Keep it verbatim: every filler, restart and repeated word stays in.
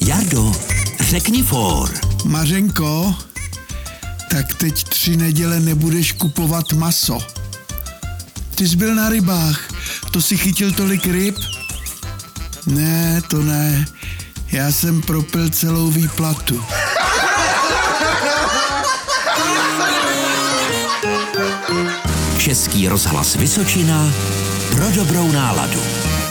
Jardo, řekni for. Mařenko, tak teď tři neděle nebudeš kupovat maso. Ty jsi byl na rybách, to si chytil tolik ryb? Ne, to ne, já jsem propil celou výplatu. Český rozhlas Vysočina pro dobrou náladu.